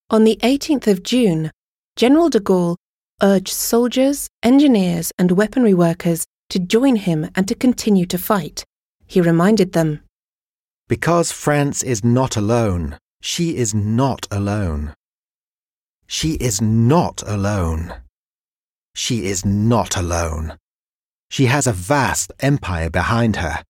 On the 18th of June, General de Gaulle urged soldiers, engineers and weaponry workers to join him and to continue to fight. He reminded them, "Because France is not alone, she is not alone. She is not alone. She is not alone. She has a vast empire behind her."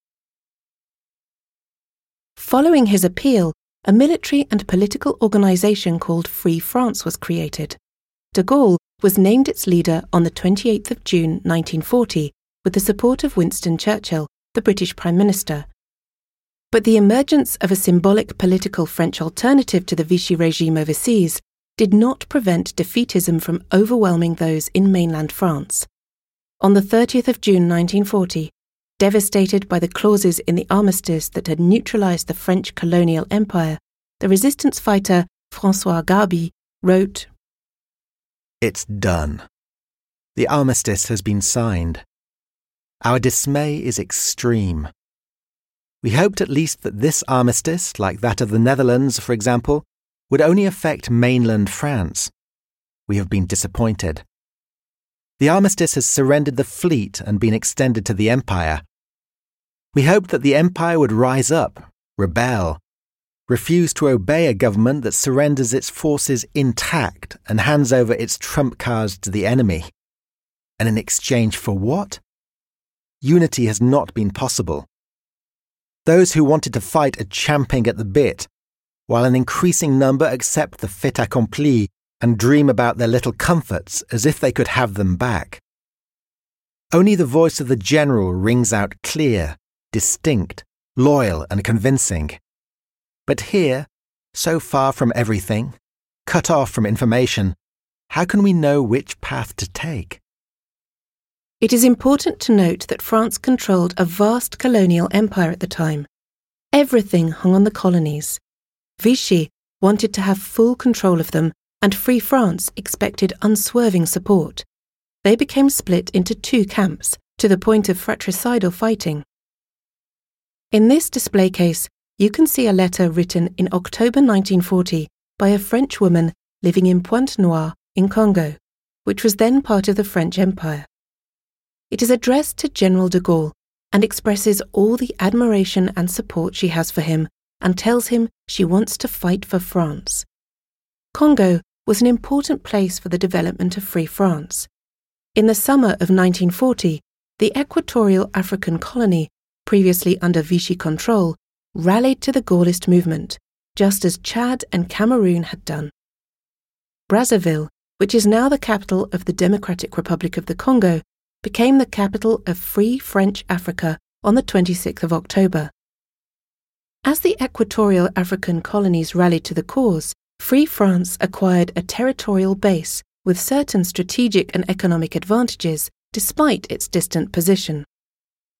Following his appeal, a military and political organisation called Free France was created. De Gaulle was named its leader on the 28th of June 1940 with the support of Winston Churchill, the British Prime Minister. But the emergence of a symbolic political French alternative to the Vichy regime overseas did not prevent defeatism from overwhelming those in mainland France. On the 30th of June 1940, devastated by the clauses in the armistice that had neutralised the French colonial empire, the resistance fighter François Garby wrote, "It's done. The armistice has been signed. Our dismay is extreme. We hoped at least that this armistice, like that of the Netherlands, for example, would only affect mainland France. We have been disappointed. The armistice has surrendered the fleet and been extended to the empire. We hoped that the empire would rise up, rebel, refuse to obey a government that surrenders its forces intact and hands over its trump cards to the enemy. And in exchange for what? Unity has not been possible. Those who wanted to fight are champing at the bit, while an increasing number accept the fait accompli and dream about their little comforts as if they could have them back. Only the voice of the general rings out clear, distinct, loyal and convincing. But here, so far from everything, cut off from information, how can we know which path to take?" It is important to note that France controlled a vast colonial empire at the time. Everything hung on the colonies. Vichy wanted to have full control of them, and Free France expected unswerving support. They became split into two camps, to the point of fratricidal fighting. In this display case, you can see a letter written in October 1940 by a French woman living in Pointe-Noire in Congo, which was then part of the French Empire. It is addressed to General de Gaulle and expresses all the admiration and support she has for him and tells him she wants to fight for France. Congo was an important place for the development of Free France. In the summer of 1940, the Equatorial African Colony, previously under Vichy control, rallied to the Gaullist movement, just as Chad and Cameroon had done. Brazzaville, which is now the capital of the Democratic Republic of the Congo, became the capital of Free French Africa on the 26th of October. As the Equatorial African colonies rallied to the cause, Free France acquired a territorial base with certain strategic and economic advantages despite its distant position.